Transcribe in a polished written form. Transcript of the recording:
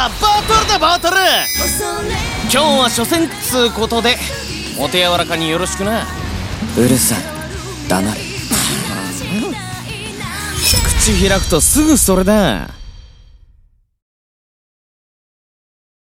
バトルだバトル。今日は初戦っつうことでお手柔らかによろしくな。うるさい、黙れ。口開くとすぐそれだ。